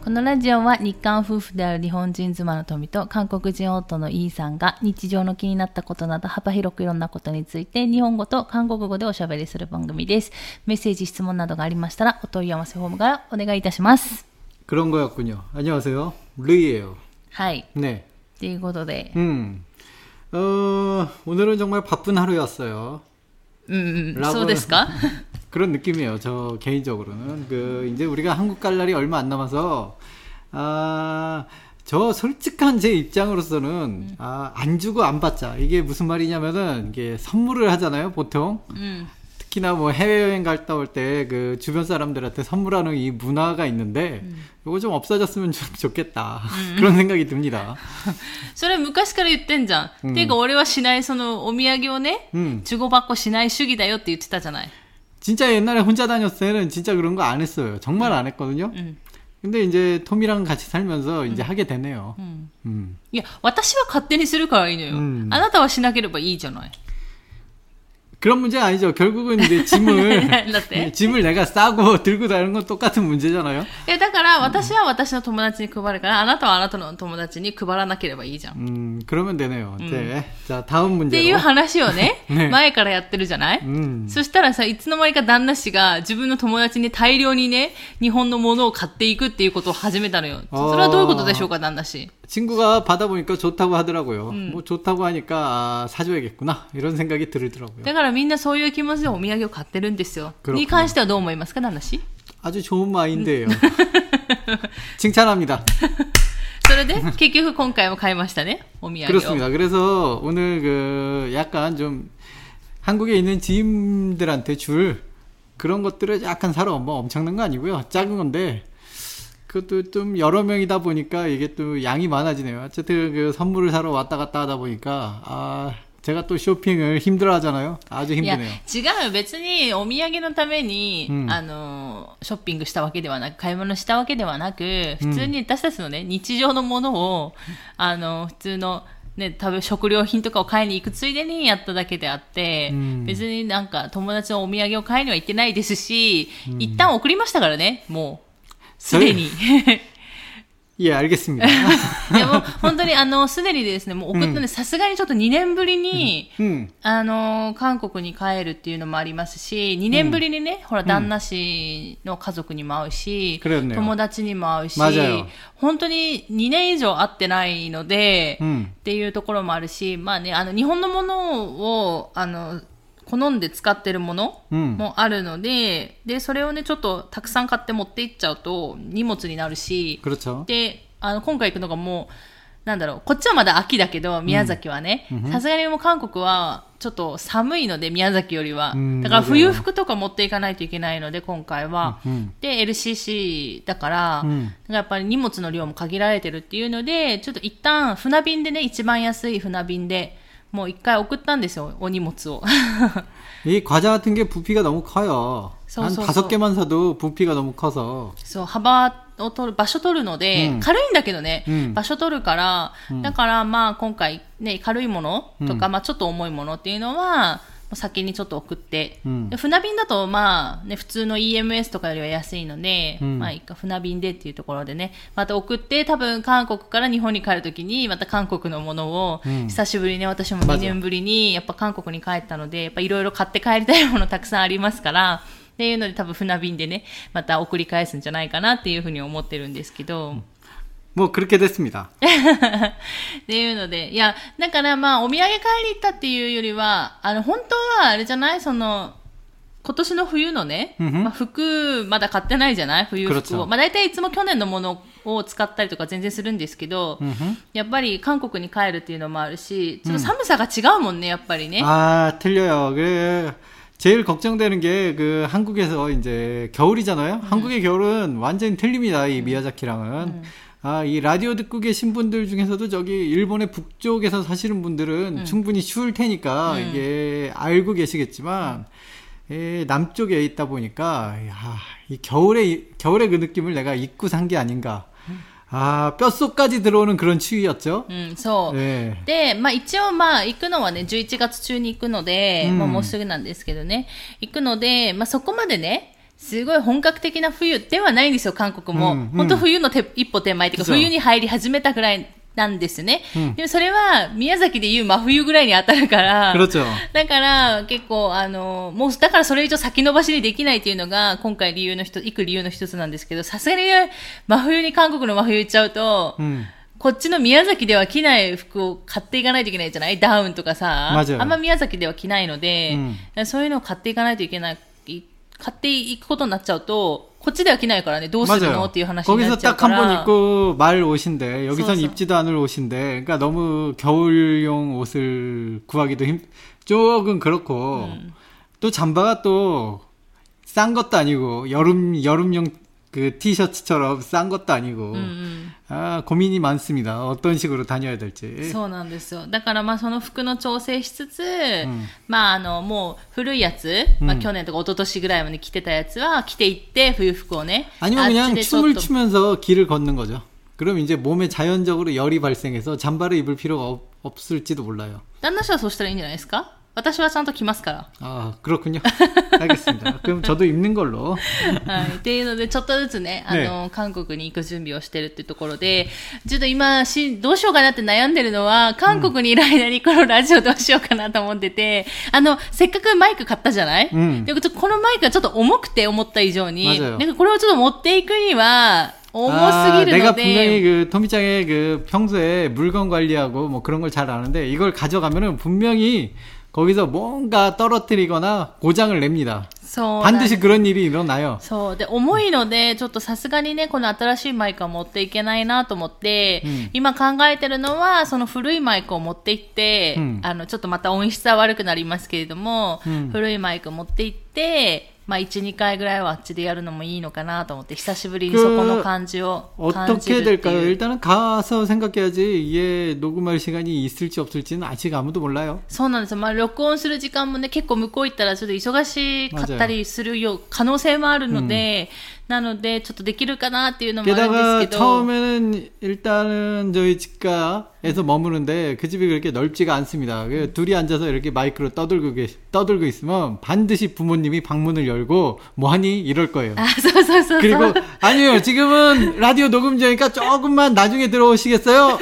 このラジオは日韓夫婦である日本人妻の富と韓国人夫のイーさんが日常の気になったことなど幅広くいろんなことについて日本語と韓国語でおしゃべりする番組です。メッセージ、質問などがありましたらお問い合わせフォームからお願いいたします。 그런거였군요。안녕하세요。ルイ예요。 はい。 네。 ということで。 오늘은 정말 바쁜 하루였어요. そうですか? 그런 느낌이에요. 저 개인적으로는 이제 우리가 한국 갈 날이 얼마 안 남아서 저 솔직한 제 입장으로서는 안 주고 안 받자. 이게 무슨 말이냐면은 이게 선물을 하잖아요, 보통. 특히나 뭐 해외여행 갔다 올 때 그 주변 사람들한테 선물하는 이 문화가 있는데 이거 좀 없어졌으면 좀 좋겠다. 그런 생각이 듭니다. それ昔から言ってんじゃん。ていうか俺はしないそのお土産をね、주고받고しない主義だよって言ってたじゃない。 진짜 옛날에 혼자 다녔을 때는 진짜 그런 거 안 했어요. 정말 안 했거든요. 근데 이제 톰이랑 같이 살면서 이제 하게 되네요. いや、私は勝手にするからいいのよ。あなたはしなければいいじゃない。 그런 문제 아니죠. 결국은 이제 짐을 내가 싸고 들고 다니는 건 똑같은 문제잖아요. だから私は私の友達に配るからあなたはあなたの友達に配らなければいいじゃん。 그러면 되네요. 네. 자, 다음 문제로. っていう話をね、前からやってるじゃない。そしたらさ、いつの間にか旦那氏が自分の友達に大量にね、日本のものを買っていくっていうことを始めたのよ。それはどういうことでしょうか、旦那氏。 친구가 받아보니까 좋다고 하더라고요. 뭐 좋다고 하니까 사줘야겠구나 이런 생각이 들더라고요. だからみんなそういう気持ちでお土産を買ってるんですよ。に関してはどう思いますか、旦那氏? 아주 좋은 마인드예요. 칭찬합니다. それで結局今回も買いましたね、お土産を. 그렇습니다. 그래서 오늘 약간 좀 한국에 있는 지인들한테 줄 그런 것들을 약간 사러 뭐 엄청난 거 아니고요. 작은 건데. 그것도 좀 여러 명이다 보니까 이게 또 양이 많아지네요. 어쨌든 그 선물을 사러 왔다 갔다 하다 보니까 제가 또 쇼핑을 힘들어 하잖아요. 아주 힘드네요. 違う、別にお土産のために、ショッピングしたわけではなく、買い物したわけではなく、普通に私たちのね、日常のものを、普通のね、食料品とかを買いに行くついでにやっただけであって、別になんか友達のお土産を買いには行ってないですし、一旦送りましたからね、もう。すでに。 いや、알겠습니다. いや、もう本当にすでにですね、もう送ったんで、さすがにちょっと2年ぶりに、韓国に帰るっていうのもありますし、2年ぶりにね、ほら、旦那氏の家族にも会うし、友達にも会うし、本当に2年以上会ってないので、っていうところもあるし、まあね、日本のものを、好んで使ってるものもあるので、で、それをね、ちょっとたくさん買って持っていっちゃうと荷物になるし、で、今回行くのがもう、なんだろう、こっちはまだ秋だけど、宮崎はね、さすがにもう韓国はちょっと寒いので、宮崎よりは。だから冬服とか持っていかないといけないので、今回は。で、LCC だから、やっぱり荷物の量も限られてるっていうので、ちょっと一旦船便でね、一番安い船便で、もう一回送ったんですよ、お荷物を。 이 과자 같은 게 부피가 너무 커요. 한 5개만 사도 부피가 너무 커서. そう、幅を取る、場所取るので、軽いんだけどね、場所取るから、だからまあ今回ね、軽いものとか、まあちょっと重いものっていうのは、先にちょっと送って、で船便だとまあね、普通の EMS とかよりは安いので、まあ一回船便でっていうところでね、また送って、多分韓国から日本に帰るときに、また韓国のものを、久しぶりにね、私も2年ぶりにやっぱ韓国に帰ったので、やっぱいろいろ買って帰りたいものたくさんありますから、っていうので多分船便でね、また送り返すんじゃないかなっていうふうに思ってるんですけど、 もう그렇게 됐습니다. っていうので、いや、だからまあ、お土産買いに行ったっていうよりは、本当はあれじゃない？今年の冬のね、まあ、服、まだ買ってないじゃない？冬服を。まあ、大体いつも去年のものを使ったりとか全然するんですけど、やっぱり韓国に帰るっていうのもあるし、ちょっと寒さが違うもんね、やっぱりね。 틀려요. 제일 걱정되는 게 한국에서 이제 겨울이잖아요. 한국의 겨울은 완전히 틀립니다. 이 미야자키랑은. 이 라디오 듣고 계신 분들 중에서도 저기 일본의 북쪽에서 사시는 분들은 충분히 추울 테니까 이게 알고 계시겠지만 남쪽에 있다 보니까 이 겨울의 그 느낌을 내가 잊고 산 게 아닌가. 뼛속까지 들어오는 그런 추위였죠. そう。で、まあ一応まあ行くのはね、11月中に行くので、まあもうすぐなんですけどね。行くので、まあそこまでね、 すごい本格的な冬ではないんですよ、韓国も。本当冬の一歩手前っていうか、冬に入り始めたぐらいなんですね。でもそれは宮崎でいう真冬ぐらいに当たるから、だから結構もうだからそれ以上先延ばしにできないっていうのが今回行く理由の一つなんですけど、さすがに真冬に韓国の真冬行っちゃうと、こっちの宮崎では着ない服を買っていかないといけないじゃない？ダウンとかさ、あんま宮崎では着ないので、そういうのを買っていかないといけない、買っていくことになっちゃうと、こっちでは着ないからね、どうするのっていう話になっちゃうから。 거기서 딱 한 번 입고 말 옷인데 여기선 입지도 않을 옷인데, 그러니까 너무 겨울용 옷을 구하기도 조금 그렇고, 또 잠바가 또 싼 것도 아니고 여름용 그 티셔츠처럼 싼 것도 아니고, 고민이 많습니다. 어떤 식으로 다녀야 될지. そうなんですよ。だからまあその服の調整しつつ、まあもう古いやつ、まあ去年とか一昨年ぐらいまで着てたやつは着ていって冬服をね。 아니면 그냥 춤을 추면서 길을 걷는 거죠. 그럼 이제 몸에 자연적으로 열이 발생해서 잠바를 입을 필요가 없을지도 몰라요. 旦那氏はそうしたらいいんじゃないですか？私はちゃんと着ますから。 ああ、그렇군요. 알겠습니다. 그럼 저도 입는 걸로. はい。っていうので、ちょっとずつね、韓国に行く準備をしてるっていうところで、ちょっと今、どうしようかなって悩んでるのは、韓国にいる間にこのラジオどうしようかなと思ってて、せっかくマイク買ったじゃない？で、このマイクがちょっと重くて思った以上に、なんかこれをちょっと持っていくには、重すぎるので。 내가 분명히 그 토미짱의 그 평소에 물건 관리하고 뭐 그런 걸 잘 아는데, 이걸 가져가면은 분명히 거기서 뭔가 떨어뜨리거나 고장을 냅니다. 반드시 그런 일이 일어나요. そうで重いのでちょっとさすがにねこの新しいマイクは持っていけないなと思って、今考えてるのはその古いマイクを持って行って、ちょっとまた音質は悪くなりますけれども、古いマイクを持って行って、まあ 1,2 回ぐらいはあっちでやるのもいいのかなと思って、久しぶりにそこの感じを感じるっていう。 어떻게 될까요? 일단은 가서 생각해야지. 이게 녹음할 시간이 있을지 없을지는 아직 아무도 몰라요. そうなんですよ。まあ録音する時間もね結構向こう行ったらちょっと忙しかったりする可能性もあるので、なのでちょっとできるかなっていうのもあるんですけど。 게다가 처음에는 일단은 저희 집가에서 머무는데 그 집이 그렇게 넓지가 않습니다. 둘이 앉아서 이렇게 마이크로 떠들고 있으면 반드시 부모님이 방문을 열고 뭐하니 이럴 거예요. 그리고 아니에요. 지금은 라디오 녹음 중이니까 조금만 나중에 들어오시겠어요?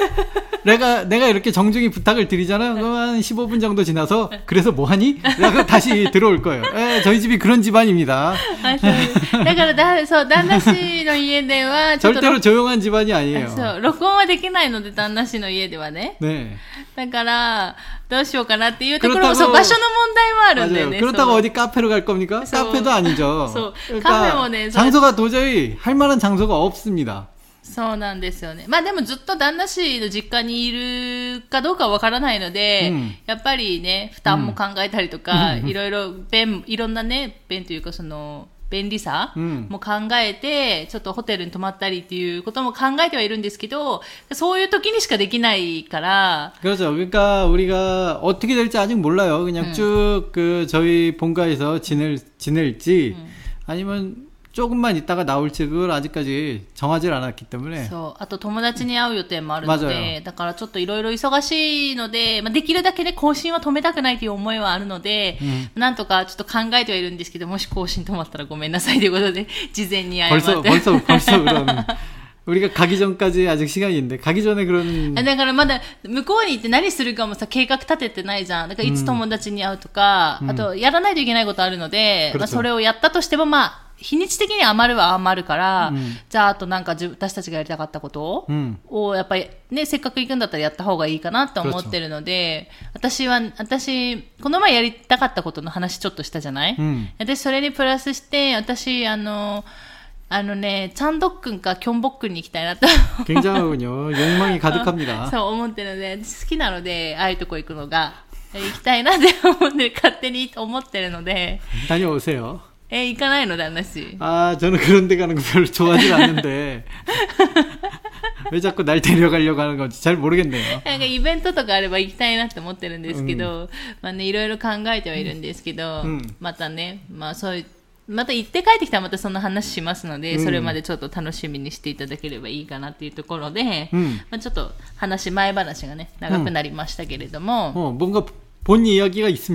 내가 이렇게 정중히 부탁을 드리잖아요. 그럼 한 15분 정도 지나서 그래서 뭐하니? 라고 다시 들어올 거예요. 저희 집이 그런 집안입니다. だからそう旦那氏の家ではちょっと 절대로 조용한 집안이 아니에요. そう録音はできないので旦那氏の家ではね。 네. だからどうしようかなっていうところもそう場所の問題もあるんだよね。 그렇다고 어디 카페로 갈 겁니까? 카페도 아니죠. 그러니까 카페もね 장소가 도저히 할 만한 장소가 없습니다. そうなんですよね。まあでもずっと旦那氏の実家にいるかどうかわからないので、やっぱりね負担も考えたりとか、いろんなね便というかその便利さも考えて、ちょっとホテルに泊まったりっていうことも考えてはいるんですけど、そういう時にしかできないから。 그렇죠. 그러니까 우리가 어떻게 될지 아직 몰라요. 그냥 쭉 그 저희 본가에서 지낼지 아니면 조금만 있다가 나올지 그걸 아직까지 정하지 않았기 때문에. そうあと友達に会う予定もあるので、だからちょっといろいろ忙しいので、まあ、できるだけね更新は止めたくないという思いはあるので、なんとかちょっと考えてはいるんですけど、もし更新止まったらごめんなさいということで事前に謝って。 벌써 그런 우리가 가기 전까지 아직 시간이 있는데 가기 전에 그런 だからまだ向こうに行って何するかもさ計画立ててないじゃん。だからいつ友達に会うとか、あとやらないといけないことあるので、まあ、それをやったとしてもまあ日にち的に余るは余るから、じゃああとなんか私たちがやりたかったことをやっぱりねせっかく行くんだったらやった方がいいかなと思ってるので、私この前やりたかったことの話ちょっとしたじゃない？私それにプラスして私ね、チャンドックンかキョンボックンに行きたいなと。 굉장하군요. 욕망이 가득합니다. そう思ってるので、好きなので、ああいうとこ行くのが、行きたいなって思って、勝手に思ってるので。 다녀오세요. 行かないの旦那氏。 아, 저는 그런 데 가는 거 별로 좋아하지 않는데. 왜 자꾸 날 데려가려고 하는 건지 잘 모르겠네요. なんかイベントとかあれば行きたいなって思ってるんですけど、まあね、いろいろ考えてはいるんですけど、またね、まあそういう、また行って帰ってきたらまたそんな話しますので、それまでちょっと楽しみにしていただければいいかなっていうところで、まあ、ちょっと前話がね長くなりましたけれども、 뭔가 본 이야기가 있습니까?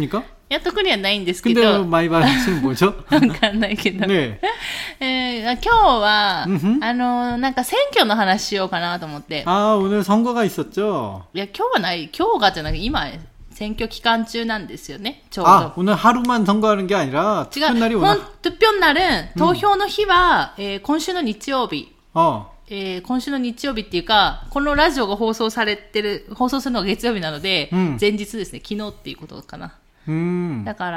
いや、特にはないんですけ 근데 ど。 마이바시는 뭐죠? わかんないけど。 ね今日は、なんか選挙の話しようかなと思って。 あ、오늘 선거가 있었죠? いや、今日はない、今日がじゃなくて、今、選挙期間中なんですよね、ちょうど。 あ、오늘 하루만 선거하는 게 아니라, 투표날이 오늘. 투표날은, 投票の日は、今週の日曜日。今週の日曜日っていうか、このラジオが放送するのが月曜日なので、前日ですね、昨日っていうことかな。だから、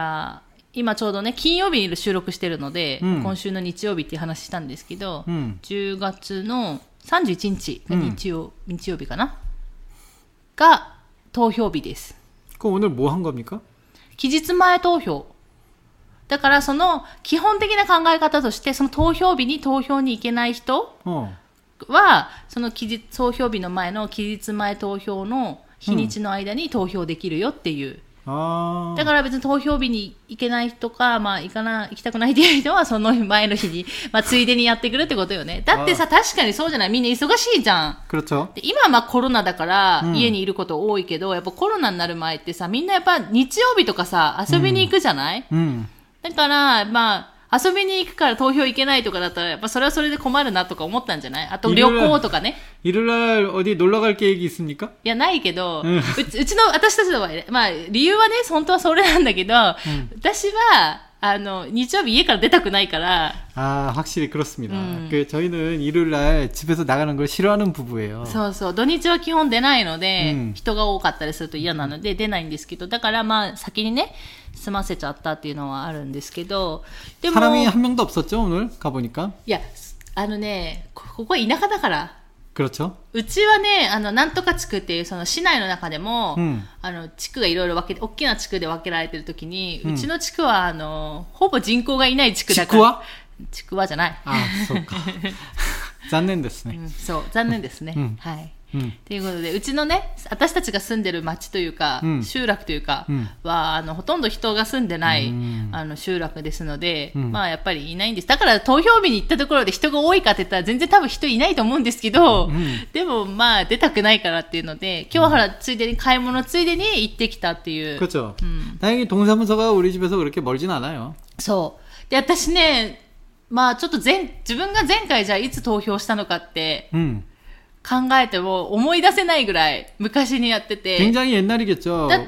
今ちょうどね、金曜日に収録してるので、今週の日曜日っていう話したんですけど、10月の31日が日曜日かなが投票日です。 그럼 오늘 뭐 한 겁니까? 期日前投票。だからその基本的な考え方として、その投票日に投票に行けない人は、その投票日の前の期日前投票の日にちの間に投票できるよっていう。だから別に投票日に行けない人か、まあ行きたくないっていう人はその前の日に、まあついでにやってくるってことよね。だってさ、確かにそうじゃない？みんな忙しいじゃん。で今はまあコロナだから家にいること多いけど、やっぱコロナになる前ってさ、みんなやっぱ日曜日とかさ、遊びに行くじゃない？だから、まあ、遊びに行くから投票行けないとかだったら、やっぱそれはそれで困るなとか思ったんじゃない？あと旅行とかね。 일요일날 어디 놀러 갈 계획이 있습니까? いや、ないけど、私たちの場合、まあ、理由はね、本当はそれなんだけど、私は、日曜日家から出たくないから。 あ、확실히 그렇습니다. 저희는 일요일날 집에서 나가는 걸 싫어하는 부부예요. そうそう。土日は基本出ないので、人が多かったりすると嫌なので出ないんですけど、だからまあ先にね、済ませちゃったっていうのはあるんですけど、でも。 사람이 한 명도 없었죠, 오늘 가보니까? いや、ここは田舎だから。 그렇죠. うちはね、なんとか地区っていう、その市内の中でも、地区がいろいろ大きな地区で分けられてるときに、うちの地区は、ほぼ人口がいない地区だから。ちくわじゃない。 あ、そうか。残念ですね。 そう、残念ですね。はい。ということで、うちのね、私たちが住んでる町というか、集落というかは、ほとんど人が住んでない、集落ですので、まあやっぱりいないんです。だから投票日に行ったところで人が多いかって言ったら全然多分人いないと思うんですけど、でもまあ出たくないからっていうので、今日はほらついでに買い物ついでに行ってきたっていう。 그렇죠. 다행히 동사무소가 우리 집에서 그렇게 멀진 않아요. そう。で、私ね、まあちょっと自分が前回じゃあいつ投票したのかって、考えても思い出せないぐらい昔にやってて。 굉장히 옛날이겠죠. だって、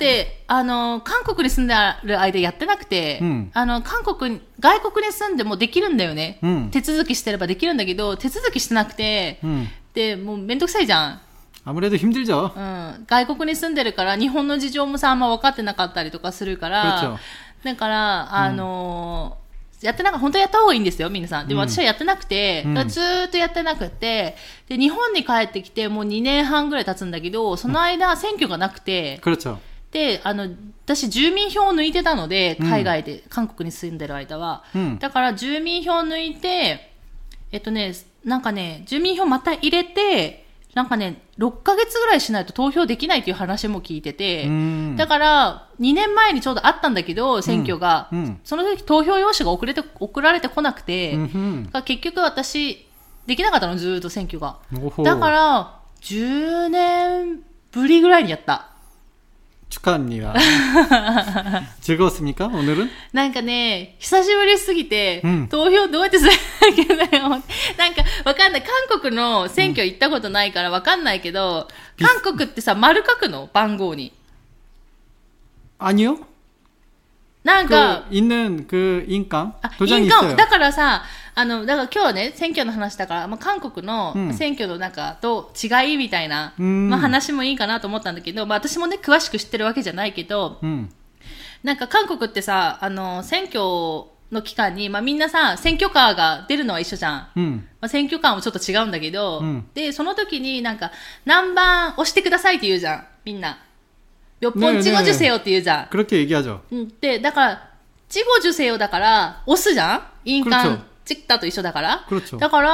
韓国に住んでる間やってなくて、外国に住んでもできるんだよね。手続きしてればできるんだけど、手続きしてなくて、で、もうめんどくさいじゃん。 아무래도 힘들죠. 外国に住んでるから日本の事情もさ、あんま分かってなかったりとかするから、だから、本当はやった方がいいんですよ、皆さん。でも私はやってなくて、ずーっとやってなくて、で、日本に帰ってきてもう2年半ぐらい経つんだけど、その間選挙がなくて、で、私住民票を抜いてたので、海外で、韓国に住んでる間は。だから住民票を抜いて、なんかね、住民票また入れて、なんかね、6ヶ月ぐらいしないと投票できないっていう話も聞いてて、だから、2年前にちょうどあったんだけど、選挙が、その時投票用紙が送られてこなくて、結局私、できなかったの、ずーっと選挙が。だから、10年ぶりぐらいにやった。 축하합니다. 즐거웠습니까? 오늘은? なんかね、久しぶりすぎて、投票どうやってするんだっけだよ。なんかわかんない。韓国の選挙行ったことないからわかんないけど、韓国ってさ、丸書くの？番号に。 아니요? なんか、 있는 인감? 印鑑。だからさ、だから今日はね、選挙の話だから、まあ、韓国の選挙のなんかと違いみたいな、まあ、話もいいかなと思ったんだけど、まあ、私もね、詳しく知ってるわけじゃないけど、なんか韓国ってさ、選挙の期間に、まあ、みんなさ、選挙カーが出るのは一緒じゃん。まあ、選挙カーもちょっと違うんだけど、で、その時になんか、何番押してくださいって言うじゃん、みんな。몇 번 찍어주세요って言うじゃん。 그렇게 얘기하죠. で、だから、찍어주세요だから、押すじゃん印鑑찍다と一緒だから。だから、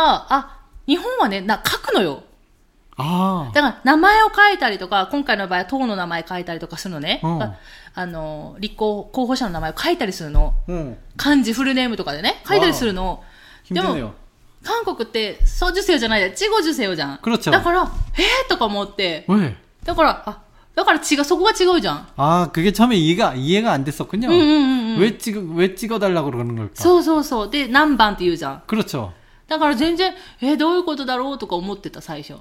日本はね、書くのよ。だから、名前を書いたりとか、今回の場合は党の名前書いたりとかするのね。立候補者の名前を書いたりするの。漢字フルネームとかでね、書いたりするの。でも、韓国って、써주세요じゃないで、찍어주세요じゃん。だから、とか思って。だから、 だからそこが違うじゃん。 아, 그게 처음에 이해가 안 됐었군요. 왜 찍어달라고 그러는 걸까? そうそうそう。で、何番って言うじゃん。 그렇죠. だから全然、どういうことだろうとか思ってた、最初。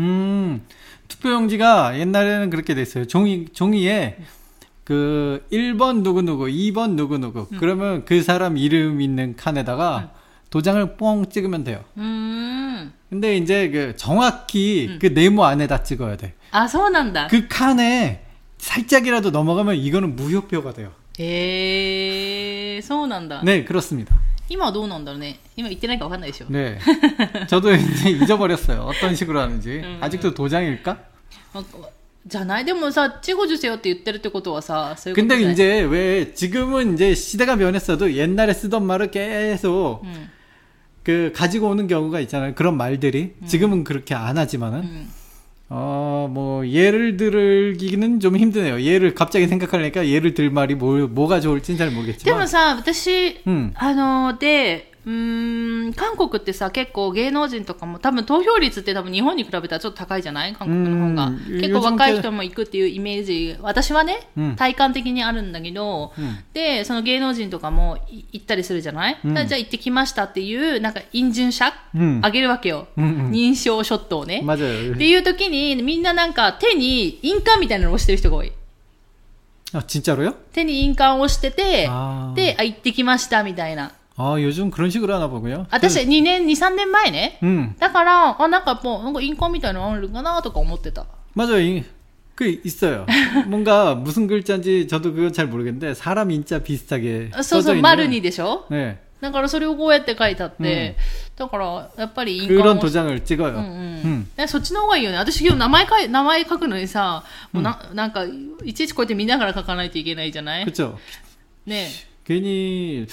투표용지가 옛날에는 그렇게 됐어요. 종이에 그 1번 누구누구, 2번 누구누구. 그러면 그 사람 이름 있는 칸에다가 도장을 뽕 찍으면 돼요. 근데 이제 그 정확히 그 네모 안에다 찍어야 돼. 아, そうなんだ. 그 칸에 살짝이라도 넘어가면 이거는 무효표가 돼요. そうなんだ. 네, 그렇습니다. 今はどうなんだろうね。今言ってないか分かんないでしょ。 네. 저도 이제 잊어버렸어요. 어떤 식으로 하는지. 아직도 도장일까? じゃないでもさ、찍어주세요って言ってるってことはさ、そういうこと 근데 じゃない 이제 왜 지금은 이제 시대가 변했어도 옛날에 쓰던 말을 계속 그 가지고 오는 경우가 있잖아요. 그런 말들이 지금은 그렇게 안 하지만은 뭐 예를 들기는 좀 힘드네요. 예를 갑자기 생각하려니까 예를 들 말이 뭐가 좋을지는 잘 모르겠지만. でもさ、私、韓国ってさ、結構芸能人とかも多分投票率って多分日本に比べたらちょっと高いじゃない？韓国の方が。結構若い人も行くっていうイメージ、私はね、体感的にあるんだけど、で、その芸能人とかも行ったりするじゃない？じゃあ行ってきましたっていう、なんか、인증샷あげるわけよ。認証ショットをね。 맞아요. っていう時に、みんななんか手に印鑑みたいなのを押してる人が多い。 아, 진짜로요? 手に印鑑を押してて、で、行ってきましたみたいな。 아, 요즘 그런 식으로 하나 보고요. 私、2、3年前ね。だから、なんかもう、なんか印鑑みたいなのあるかなとか思ってた。 맞아요. 그 있어요. 뭔가 무슨 글자인지 저도 그건 잘 모르겠는데 사람 인자 비슷하게 써져 있는. 丸にでしょ? 네. だからそれをこうやって書いてあって、だからやっぱり印鑑を 그런 도장을 찍어요. そっちの方がいいよね。私今日名前書くのにさ、もうなんかいちいちこうやって見ながら書かないといけないじゃない? 그렇죠. ね。 괜히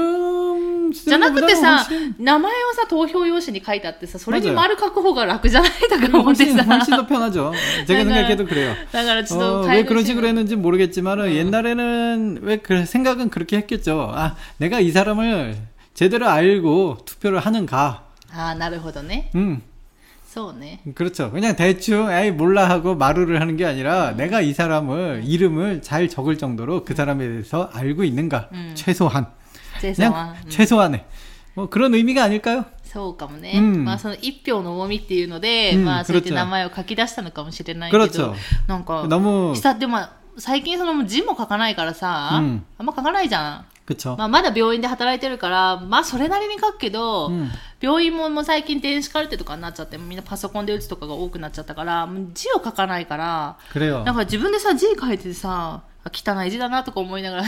이름 じゃなくてさ、名前をさ投票用紙に書いてあってさ、それに丸書く方が楽じゃないとか思ってさ。 훨씬 더 편하죠. 제가 생각해도 그래요. だからちょっと 왜 그런 식으로 했는지 모르겠지만 옛날에는 왜 생각은 그렇게 했겠죠. 아, 내가 이 사람을 제대로 알고 투표를 하는가. 아, なるほどね. そうね. 그렇죠. 그냥 대충 에이 몰라 하고 마루를 하는 게 아니라 내가 이 사람을 이름을 잘 적을 정도로 그 사람에 대해서 알고 있는가. 최소한. 그냥 최소한의 뭐 그런 의미가 아닐까요? そうかもね。まあその一票の重みっていうので、まあそうやって名前を書き出したのかもしれないけど、なんかでも最近その字も書かないからさ、あんま書かないじゃん。 그쵸. まあまだ病院で働いてるから、まあそれなりに書くけど、病院ももう最近電子カルテとかになっちゃって、みんなパソコンで打つとかが多くなっちゃったから、字を書かないから、 그래요. だから自分でさ、字書いてさ、汚い字だなとか思いながら。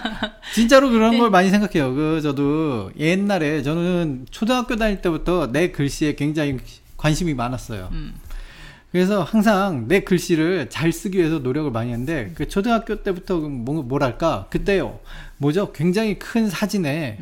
진짜로 그런 걸 많이 생각해요. 저도 옛날에 저는 초등학교 다닐 때부터 내 글씨에 굉장히 관심이 많았어요. 그래서 항상 내 글씨를 잘 쓰기 위해서 노력을 많이 했는데 그 초등학교 때부터 뭐랄까 그때요. 뭐죠? 굉장히 큰 사진에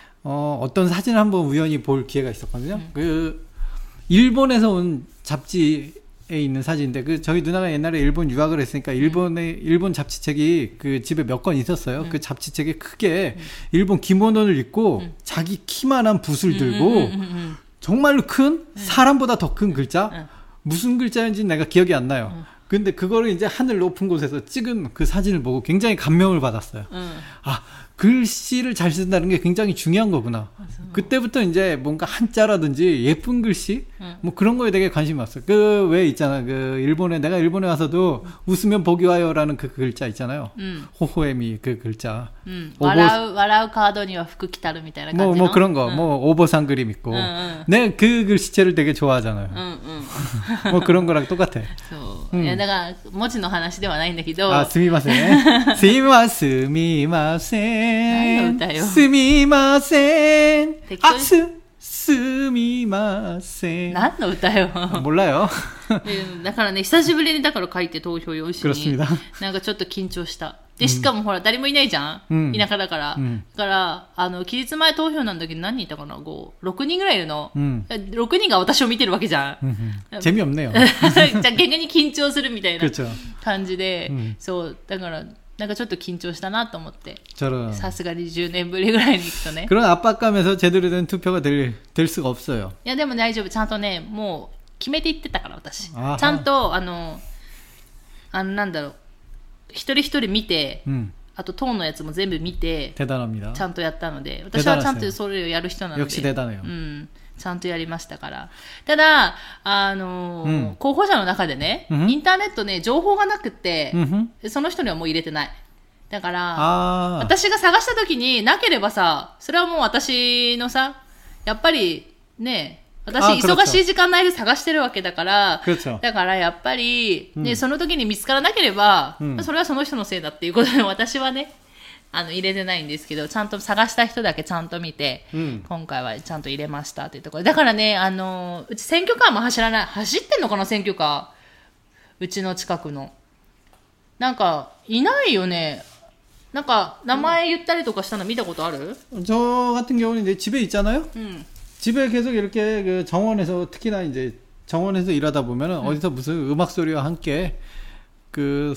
어떤 사진을 한번 우연히 볼 기회가 있었거든요. 그 일본에서 온 잡지에 있는 사진인데 그 저희 누나가 옛날에 일본 유학을 했으니까 일본 잡지책이 그 집에 몇 권 있었어요. 그 잡지책에 크게 일본 기모노를 입고 자기 키만한 붓을 들고 정말로 큰 사람보다 더 큰 글자 무슨 글자인지 내가 기억이 안 나요. 근데 그거를 이제 하늘 높은 곳에서 찍은 그 사진을 보고 굉장히 감명을 받았어요. 아, 글씨를 잘 쓴다는 게 굉장히 중요한 거구나. 맞아. 그때부터 이제 뭔가 한자라든지 예쁜 글씨 뭐 그런 거에 되게 관심이 왔어요. 그 왜 있잖아. 그 내가 일본에 와서도 웃으면 복이 와요라는 그 글자 있잖아요. 호호에미 그 글자. 笑うカードには福来たるみたいな感じの 뭐 그런 거. 뭐 오보상 그림 있고. 내가 그 글씨체를 되게 좋아하잖아요. 뭐 그런 거랑 똑같아. いやだから文字の話ではないんだけど。 あ、すみません。すみません。 何の歌よ。 すみません。あ、すみません。 何の歌よ。 몰라요。 だからね、久しぶりにだから書いて投票用紙に。なんかちょっと緊張した。で、しかもほら、誰もいないじゃん、田舎だから。だから、期日前投票なんだけど何人いたかな 6人ぐらいいるの。6人が私を見てるわけじゃん。 재미없네요。 じゃあ逆に緊張するみたいな感じで、そう、だから、なんかちょっと緊張したなと思って。さすがに10年ぶりぐらいに行くとね。 그런 압박감에서 제대로 된 투표가 될 수가 없어요。 いや、でも大丈夫。ちゃんとね、もう決めていってたから、私。ちゃんと、 なんだろう、一人一人見て、あと党のやつも全部見て、 대단합니다。 ちゃんとやったので、私はちゃんとそれをやる人なので、 역시 대단해요。 ちゃんとやりましたから。ただ、候補者の中でね、インターネットね、情報がなくって、その人にはもう入れてない。だから、私が探した時になければさ、それはもう私のさ、やっぱりね、私忙しい時間内で探してるわけだから、だからやっぱり、ね、その時に見つからなければ、それはその人のせいだっていうことで、私はね、入れてないんですけど、ちゃんと探した人だけちゃんと見て、今回はちゃんと入れましたというところで。だからね、うち選挙カーも走ってんのかな、選挙カー。うちの近くの。なんか、いないよね。なんか、名前言ったりとかしたの見たことある？ 저 같은 경우는 이제 집에 있잖아요? 집에 계속 이렇게 그 정원에서, 특히나 이제 정원에서 일하다 보면은 어디서 무슨 음악 소리와 함께 그,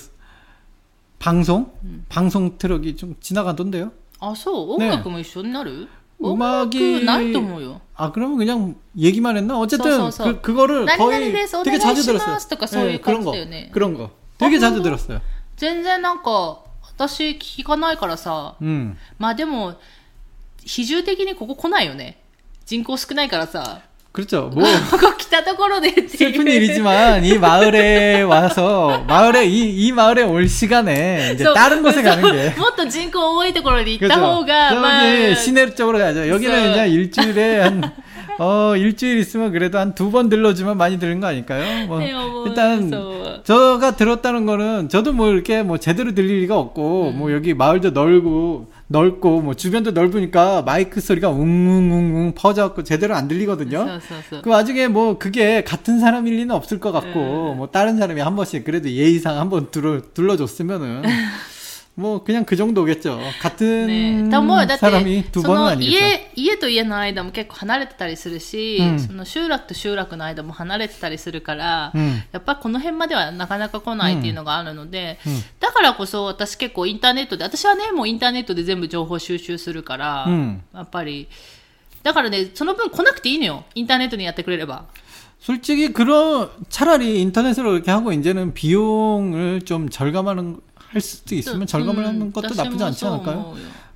방송 트럭이 좀 지나가던데요. 아, そう? 음악도一緒になる? 음악이 ないと思うよ. 아, 그러면 그냥 얘기만 했나? 어쨌든 그거를 거의 되게 자주 들었어요. 네, 그런 거 되게 자주 들었어요. 全然なんか私聞かないからさ。まあでも比重的にここ来ないよね。人口少ないからさ。 그렇죠. 뭐 ここ来たところでっていう 슬픈 일이지만 이 마을에 와서 이 마을에 올 시간에 이제 다른 곳에 가는 게 もっと人口多いところに行った方が 저기 시내 쪽으로 가죠. 여기는 이제 일주일에 한 일주일 있으면 그래도 한 2번 들러주면 많이 들은 거 아닐까요? 뭐 일단 저가 들었다는 거는 저도 뭐 이렇게 뭐 제대로 들릴 리가 없고 뭐 여기 마을도 넓고 뭐 주변도 넓으니까 마이크 소리가 웅웅웅웅 퍼져갖고 제대로 안 들리거든요. 그 와중에 뭐 그게 같은 사람일 리는 없을 것 같고 뭐 다른 사람이 한 번씩 그래도 예의상 한번 둘러줬으면은 뭐 그냥 그 정도겠죠. 같은 사람이 두 번은 아니겠죠. 家と家の間も結構離れてたりするし、その集落と集落の間も離れてたりするから、やっぱこの辺まではなかなか来ないっていうのがあるので、だからこそ私結構インターネットで、私はねもうインターネットで全部情報収集するから、やっぱりだからねその分来なくていいのよ。インターネットにやってくれれば。 솔직히 차라리 인터넷으로 이렇게 하고 이제는 비용을 좀 할 수도 있으면 절감을 하는 것도 나쁘지 않지 않을까요?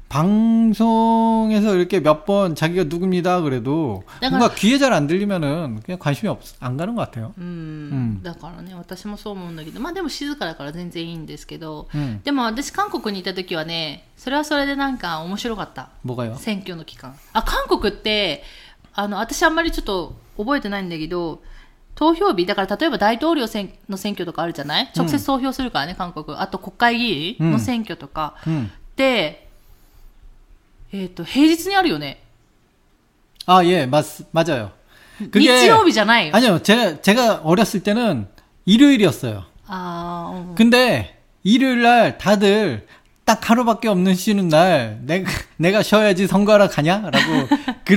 방송에서 이렇게 몇 번 자기가 누굽니다 그래도 뭔가 귀에 잘 안 들리면은 그냥 관심이 안 가는 것 같아요. だからね私もそう思うんだけど、まあでも静かだから全然いいんですけど、でも私韓国にいた時はね、それはそれでなんか面白かった。 뭐가요? 選挙の期間。韓国って私あんまりちょっと覚えてないんだけど。 投票日だから例えば大統領の選挙とかあるじゃない、直接投票するからね韓国。あと国会議員の選挙とか、で平日にあるよね。 아, 예, 맞아요. 그게 日曜日じゃないよ。 아니요, 제가 어렸을 때는 일요일이었어요. 근데 일요일 날 다들 딱 하루밖에 없는 쉬는 날 내가 쉬어야지 선거하러 가냐라고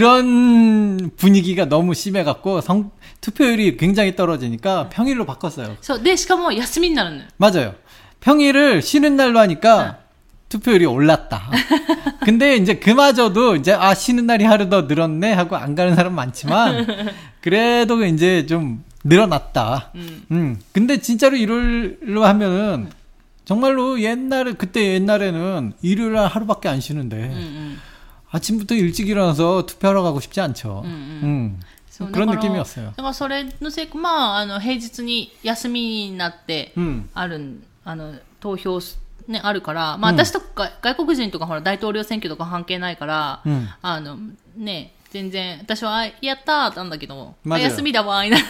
그런 분위기가 너무 심해갖고 투표율이 굉장히 떨어지니까 평일로 바꿨어요. そうでしかも休みになるの。 맞아요. 평일을 쉬는 날로 하니까 투표율이 올랐다. 근데 이제 그마저도 이제 쉬는 날이 하루 더 늘었네 하고 안 가는 사람 많지만 그래도 이제 좀 늘어났다. 근데 진짜로 일요일로 하면은 정말로 그때 옛날에는 일요일 날 하루밖에 안 쉬는데 아침부터 일찍 일어나서 투표하러 가고 싶지 않죠. 그런 느낌이었어요. だからそれのせいか、まあ平日に休みになって投票ねあるから、まあ私とか外国人とかほら大統領選挙とか関係ないから、ね全然私はやったーなんだけど、休みだわーいな。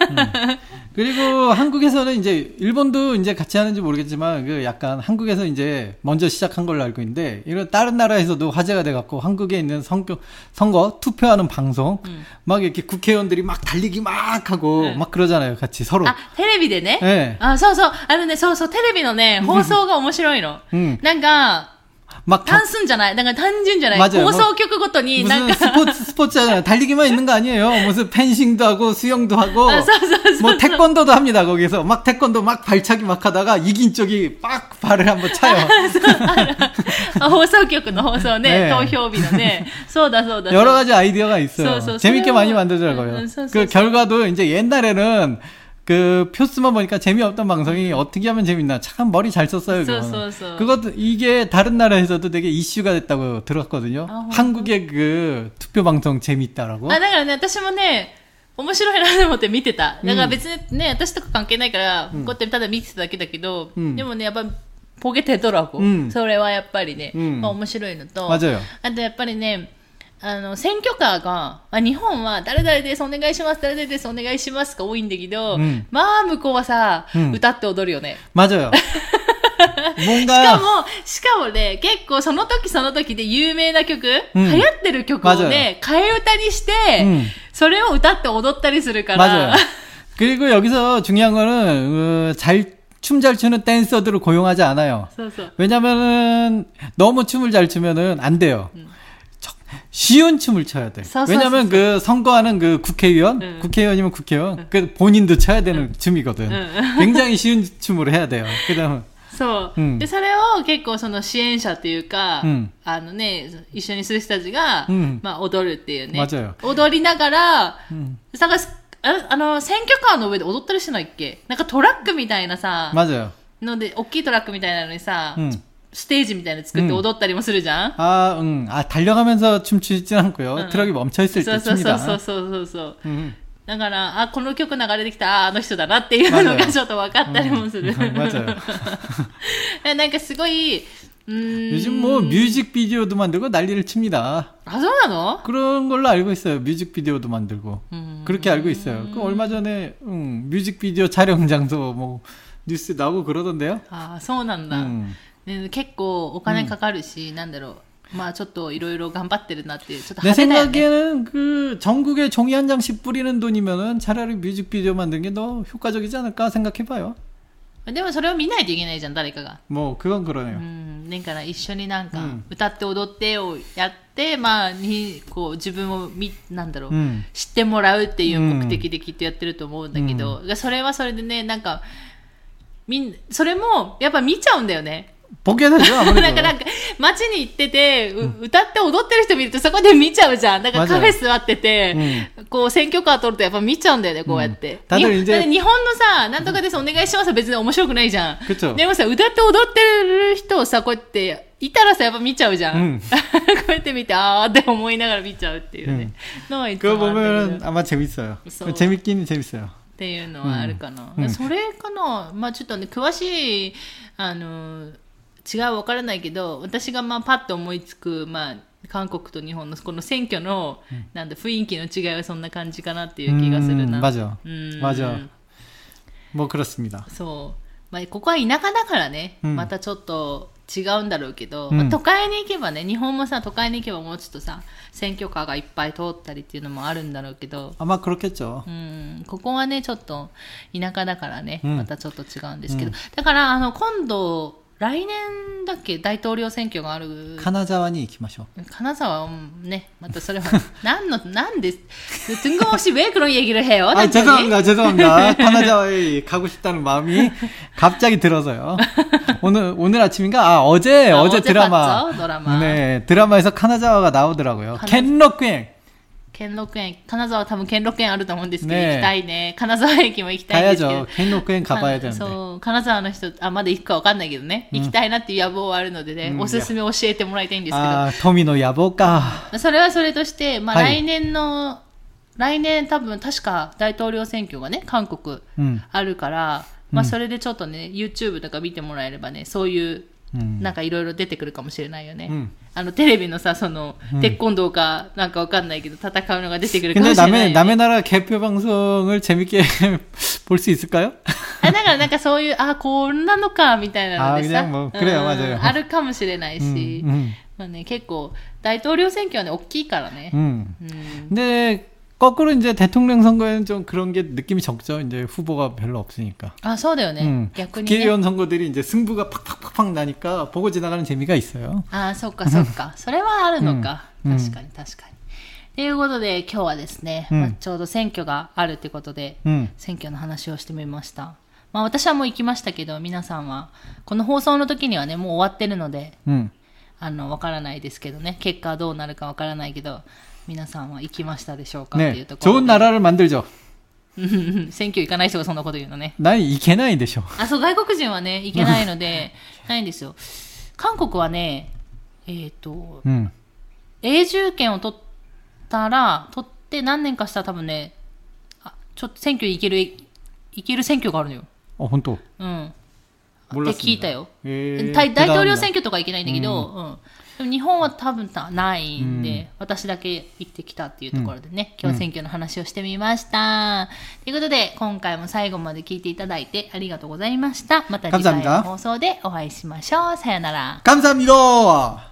그리고 한국에서는 이제 일본도 이제 같이 하는지 모르겠지만 그 약간 한국에서 이제 먼저 시작한 걸로 알고 있는데 이런 다른 나라에서도 화제가 돼 갖고 한국에 있는 선거 투표하는 방송 막 이렇게 국회의원들이 막 달리기 막 하고 막 그러잖아요. 같이 서로. テレビでね。 네. そうそうテレビのね放送が面白いの。なんか 막 단순じゃない。なんか単純じゃない。 맞아요. 放送局ごとに 무슨 스포츠잖아요. 달리기만 있는 거 아니에요. 무슨 펜싱도 하고 수영도 하고 뭐 태권도도 합니다. 거기서 막 태권도 막 발차기 막 하다가 이긴 쪽이 빡 발을 한번 차요. 放送局の放送ね、投票日のね。そうだ。 여러 가지 아이디어가 있어요. 재밌게 많이 만들더라고요. 그 결과도 이제 옛날에는 그 표스만 보니까 재미없던 방송이 어떻게 하면 재밌나. 참 머리 잘 썼어요. 그것도 이게 다른 나라에서도 되게 이슈가 됐다고 들었거든요. 한국의 그 투표 방송 재밌다라고. だからね、私もね、面白いなと思って見てた。だから別にね、私とか関係ないから、こうやってただ見てただけだけど、でもね、やっぱポケテトラゴ、それはやっぱりね、まあ面白いのと、あとやっぱりね、選挙カーが、日本は誰々ですお願いします、誰々ですお願いしますが多いんだけど、まあ向こうはさ、歌って踊るよね。 맞아요。 しかもね、結構その時その時で有名な曲、流行ってる曲をね、替え歌にして、それを歌って踊ったりするから。 그리고 여기서 중요한 거는 춤 잘 추는 댄서들을 고용하지 않아요. 왜냐면은 너무 춤을 잘 추면은 안 돼요. 쉬운 춤을 춰야 돼. 왜냐면 그 선거하는 그 국회의원이면 국회의원, 그 본인도 춰야 되는 춤이거든. 굉장히 쉬운 춤으로 해야 돼요. 그다음 そう。で、それを結構その支援者っていうか、一緒にする人たちが、まあ踊るっていうね。踊りながら、選挙カーの上で踊ったりしてないっけ？なんかトラックみたいなさ、ので、大きいトラックみたいなのにさ、ステージみたいなの作って踊ったりもするじゃん？ 달려가면서 춤추진 않고요. 트럭이 멈춰있을 때 춥니다. そう。だから、この曲流れてきた、あの人だなっていうのがちょっと分かったりもする。 맞아요. なんかすごい、 요즘 뭐 뮤직비디오도 만들고 난리를 칩니다. 아, 그러나? 그런 걸로 알고 있어요. 뮤직비디오도 만들고. 그렇게 알고 있어요. 그 얼마 전에 뮤직비디오 촬영 장소 뭐 뉴스 나오고 그러던데요. 아, そうなんだ。結構お金かかるし、なんだろう。まあちょっといろいろ頑張ってるなっていうちょっと派手だよね。 내 생각에는 그 전국에 종이 한 장씩 뿌리는 돈이면은 차라리 뮤직비디오 만드는 게 더 효과적이지 않을까 생각해봐요. でもそれを見ないといけないじゃん、誰かが。 もう그건 그러네요. だから一緒になんか歌って踊ってをやって、まあこう自分をなんだろう、知ってもらうっていう目的できっとやってると思うんだけど、それはそれでね、なんかそれもやっぱ見ちゃうんだよね。 보게 되죠, 아무래도. なんか街に行ってて、歌って踊ってる人見るとそこで見ちゃうじゃん。だからカフェ座ってて、こう選挙カー取るとやっぱ見ちゃうんだよね、こうやって。だって日本のさ、なんとかですお願いしますは別に面白くないじゃん。でもさ、歌って踊ってる人をさ、こうやっていたらさ、やっぱ見ちゃうじゃん。こうやって見て、あーって思いながら見ちゃうっていうね。のはいつもあるんだけど。 그거 보면 아마 재밌어요. 재밌긴 재밌어요. っていうのはあるかな。それかな。まあちょっとね、詳しい、違うわからないけど、私がまあパッと思いつく、まあ韓国と日本のこの選挙の、なんだ雰囲気の違いはそんな感じかなっていう気がするな。 맞아. 뭐 그렇습니다. そう。まあここは田舎だからね、またちょっと違うんだろうけど、まあ、都会に行けばね、日本もさ都会に行けばもうちょっとさ選挙カーがいっぱい通ったりっていうのもあるんだろうけど、 まあ그렇겠죠。 ここはねちょっと田舎だからね、またちょっと違うんですけど、だから今度来年だっけ大統領選挙がある。 金沢に行きましょう。 金沢ね、またそれはなんで뜬금없이 왜 그런 얘기를 해요? 죄송합니다.金沢에 가고 싶다는 마음이 갑자기 들어서요. 오늘 아침인가? 어제 드라마. 네, 드라마에서金沢가 나오더라고요. 켄로쿠엔. 兼六園、金沢多分兼六園あると思うんですけど、行きたいね。金沢駅も行きたいんですけど。 兼六園가봐야 되는데。 そう、金沢の人、まだ行くかわかんないけどね。行きたいなっていう野望はあるのでね、おすすめ教えてもらいたいんですけど。 富の野望か。 それはそれとして、まあ来年多分確か大統領選挙がね、韓国あるから、まあそれでちょっとね、YouTube とか見てもらえればね、そういう、なんかいろいろ出てくるかもしれないよね。テレビのさ、鉄拳道かなんかわかんないけど戦うのが出てくるかもしれないよね。 남의 나라 개표 방송을 재밌게 볼 수 있을까요? だからなんかそういうこんなのかみたいなのでさ、 그래요, 맞아요. あるかもしれないし、まあね結構大統領選挙はね大きいからね。 で 거꾸로 이제 대통령 선거에는 좀 그런 게 느낌이 적죠. 이제 후보가 별로 없으니까. そうだよね。逆にね。 국회의원 선거들이 이제 승부가 팍팍팍팍 나니까 보고 지나가는 재미가 있어요. そっかそっか。それはあるのか。確かに確かに。ということで今日はですね、ちょうど選挙があるってことで、選挙の話をしてみました。まあ私はもう行きましたけど、皆さんはこの放送の時にはねもう終わってるので、わからないですけどね。結果はどうなるかわからないけど。皆さんは行きましたでしょうかっていうところで。 좋은 나라를 만들죠. 選挙行かない人がそんなこと言うのね。 何行けないでしょ。 あ、そう、外国人はね、行けないので、ないんですよ。韓国はね、永住権を取って何年かしたら多分ね、ちょっと選挙行ける選挙があるのよ。 あ、本当。 うん。って聞いたよ。 大統領選挙とか行けないんだけど、でも日本は多分ないんで、私だけ行ってきたっていうところでね、今日選挙の話をしてみました。ということで、今回も最後まで聞いていただいてありがとうございました。また次回の放送でお会いしましょう。さよなら。 감사합니다.